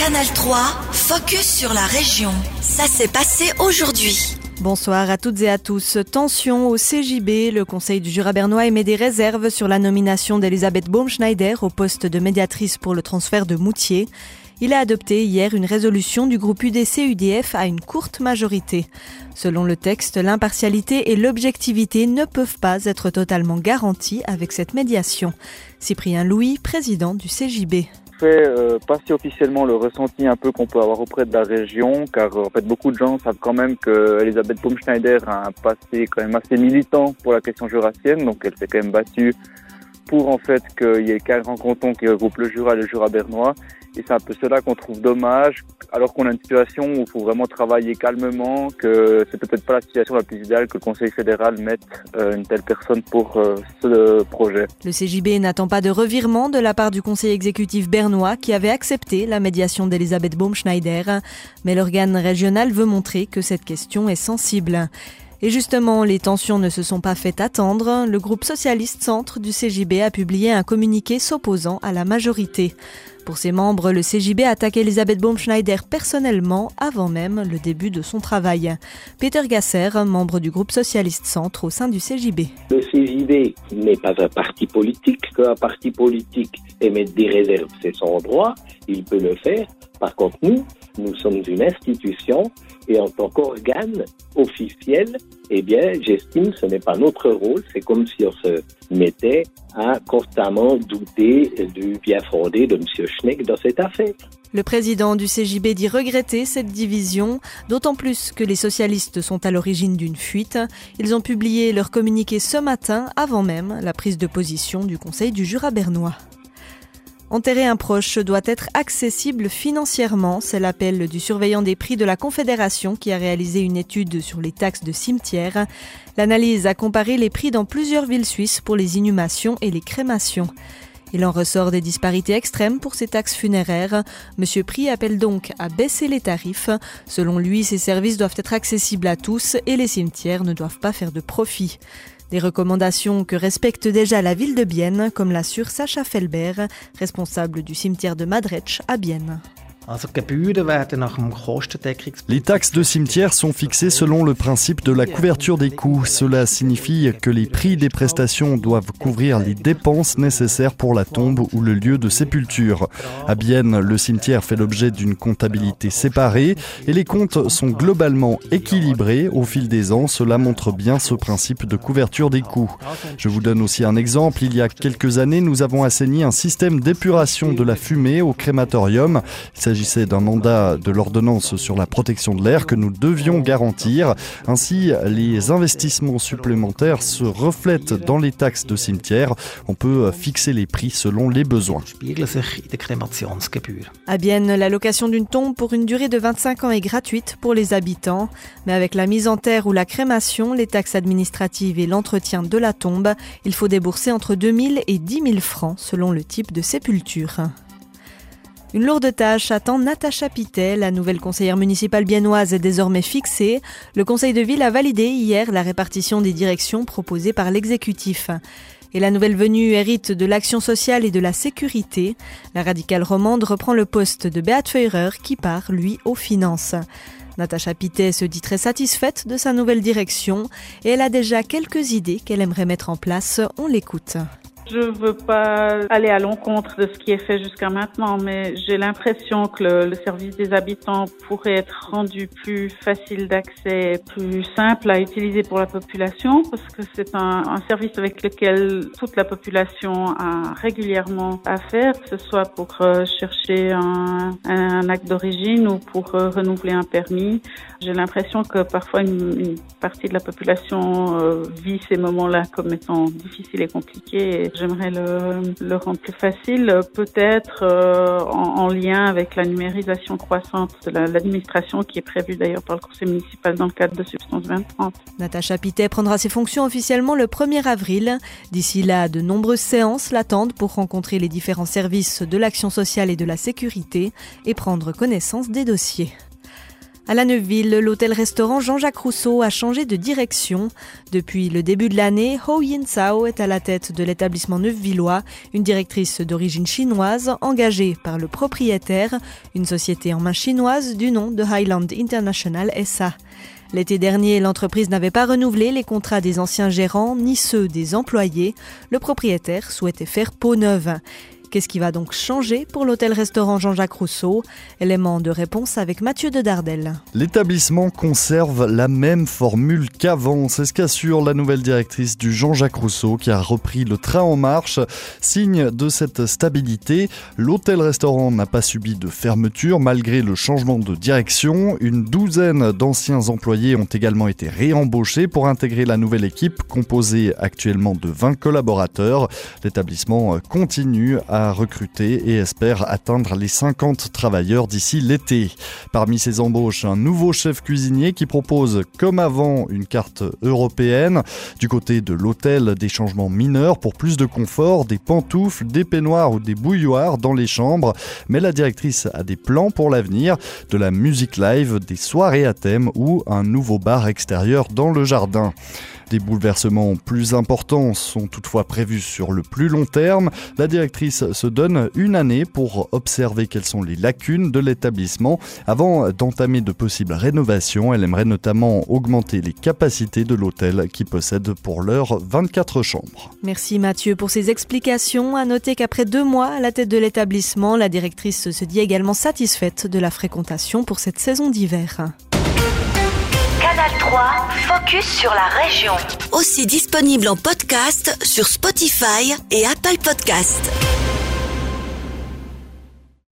Canal 3, focus sur la région. Ça s'est passé aujourd'hui. Bonsoir à toutes et à tous. Tension au CJB. Le Conseil du Jura bernois émet des réserves sur la nomination d'Elisabeth Baumschneider au poste de médiatrice pour le transfert de Moutier. Il a adopté hier une résolution du groupe UDC-UDF à une courte majorité. Selon le texte, l'impartialité et l'objectivité ne peuvent pas être totalement garanties avec cette médiation. Cyprien Louis, président du CJB. Passer officiellement le ressenti un peu qu'on peut avoir auprès de la région, car en fait beaucoup de gens savent quand même que Elisabeth Baumschneider a un passé quand même assez militant pour la question jurassienne, donc elle s'est quand même battue pour en fait qu'il y ait 40 cantons qui regroupent le Jura et le Jura bernois. Et c'est un peu cela qu'on trouve dommage, alors qu'on a une situation où il faut vraiment travailler calmement, que c'est peut-être pas la situation la plus idéale que le Conseil fédéral mette une telle personne pour ce projet. Le CJB n'attend pas de revirement de la part du Conseil exécutif bernois qui avait accepté la médiation d'Elisabeth Baumschneider, mais l'organe régional veut montrer que cette question est sensible. Et justement, les tensions ne se sont pas fait attendre. Le groupe socialiste centre du CJB a publié un communiqué s'opposant à la majorité. Pour ses membres, le CJB attaque Elisabeth Baumschneider personnellement avant même le début de son travail. Peter Gasser, membre du groupe socialiste centre au sein du CJB. Le CJB n'est pas un parti politique. Qu'un parti politique émette des réserves, c'est son droit, il peut le faire. Par contre, nous sommes une institution et en tant qu'organe officiel, j'estime que ce n'est pas notre rôle. C'est comme si on se mettait à constamment douter du bien fondé de M. Schneck dans cette affaire. Le président du CJB dit regretter cette division, d'autant plus que les socialistes sont à l'origine d'une fuite. Ils ont publié leur communiqué ce matin, avant même la prise de position du Conseil du Jura bernois. Enterrer un proche doit être accessible financièrement. C'est l'appel du surveillant des prix de la Confédération qui a réalisé une étude sur les taxes de cimetière. L'analyse a comparé les prix dans plusieurs villes suisses pour les inhumations et les crémations. Il en ressort des disparités extrêmes pour ces taxes funéraires. Monsieur Prix appelle donc à baisser les tarifs. Selon lui, ces services doivent être accessibles à tous et les cimetières ne doivent pas faire de profit. Des recommandations que respecte déjà la ville de Bienne, comme l'assure Sacha Felbert, responsable du cimetière de Madretsch à Bienne. Les taxes de cimetière sont fixées selon le principe de la couverture des coûts. Cela signifie que les prix des prestations doivent couvrir les dépenses nécessaires pour la tombe ou le lieu de sépulture. À Bienne, le cimetière fait l'objet d'une comptabilité séparée et les comptes sont globalement équilibrés au fil des ans. Cela montre bien ce principe de couverture des coûts. Je vous donne aussi un exemple. Il y a quelques années, nous avons assaini un système d'épuration de la fumée au crématorium. Il s'agissait d'un mandat de l'ordonnance sur la protection de l'air que nous devions garantir. Ainsi, les investissements supplémentaires se reflètent dans les taxes de cimetière. On peut fixer les prix selon les besoins. À Bienne, la location d'une tombe pour une durée de 25 ans est gratuite pour les habitants. Mais avec la mise en terre ou la crémation, les taxes administratives et l'entretien de la tombe, il faut débourser entre 2 000 et 10 000 francs selon le type de sépulture. Une lourde tâche attend Natacha Pittet. La nouvelle conseillère municipale biennoise est désormais fixée. Le conseil de ville a validé hier la répartition des directions proposées par l'exécutif. Et la nouvelle venue hérite de l'action sociale et de la sécurité. La radicale romande reprend le poste de Beat Feurer qui part, lui, aux finances. Natacha Pittet se dit très satisfaite de sa nouvelle direction et elle a déjà quelques idées qu'elle aimerait mettre en place. On l'écoute. Je ne veux pas aller à l'encontre de ce qui est fait jusqu'à maintenant, mais j'ai l'impression que le service des habitants pourrait être rendu plus facile d'accès, plus simple à utiliser pour la population, parce que c'est un service avec lequel toute la population a régulièrement affaire, que ce soit pour chercher un acte d'origine ou pour renouveler un permis. J'ai l'impression que parfois une partie de la population vit ces moments-là comme étant difficiles et compliqués. J'aimerais le rendre plus facile, peut-être en lien avec la numérisation croissante de l'administration qui est prévue d'ailleurs par le conseil municipal dans le cadre de Substance 2030. Natacha Pittet prendra ses fonctions officiellement le 1er avril. D'ici là, de nombreuses séances l'attendent pour rencontrer les différents services de l'action sociale et de la sécurité et prendre connaissance des dossiers. À la Neuville, l'hôtel-restaurant Jean-Jacques Rousseau a changé de direction. Depuis le début de l'année, Ho Yin Sao est à la tête de l'établissement neuvillois, une directrice d'origine chinoise engagée par le propriétaire, une société en main chinoise du nom de Highland International SA. L'été dernier, l'entreprise n'avait pas renouvelé les contrats des anciens gérants ni ceux des employés. Le propriétaire souhaitait faire peau neuve. Qu'est-ce qui va donc changer pour l'hôtel-restaurant Jean-Jacques Rousseau ? Élément de réponse avec Mathieu de Dardel. L'établissement conserve la même formule qu'avant. C'est ce qu'assure la nouvelle directrice du Jean-Jacques Rousseau qui a repris le train en marche. Signe de cette stabilité, l'hôtel-restaurant n'a pas subi de fermeture malgré le changement de direction. Une douzaine d'anciens employés ont également été réembauchés pour intégrer la nouvelle équipe composée actuellement de 20 collaborateurs. L'établissement continue à recruter et espère atteindre les 50 travailleurs d'ici l'été. Parmi ces embauches, un nouveau chef cuisinier qui propose, comme avant, une carte européenne. Du côté de l'hôtel, des changements mineurs pour plus de confort, des pantoufles, des peignoirs ou des bouilloires dans les chambres. Mais la directrice a des plans pour l'avenir, de la musique live, des soirées à thème ou un nouveau bar extérieur dans le jardin. Des bouleversements plus importants sont toutefois prévus sur le plus long terme. La directrice se donne une année pour observer quelles sont les lacunes de l'établissement. Avant d'entamer de possibles rénovations, elle aimerait notamment augmenter les capacités de l'hôtel qui possède pour l'heure 24 chambres. Merci Mathieu pour ces explications. À noter qu'après 2 mois à la tête de l'établissement, la directrice se dit également satisfaite de la fréquentation pour cette saison d'hiver. Canal 3, focus sur la région. Aussi disponible en podcast sur Spotify et Apple Podcasts.